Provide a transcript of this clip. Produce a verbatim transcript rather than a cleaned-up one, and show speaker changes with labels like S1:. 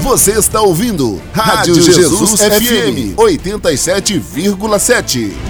S1: Você está ouvindo Rádio Jesus F M oitenta e sete vírgula sete.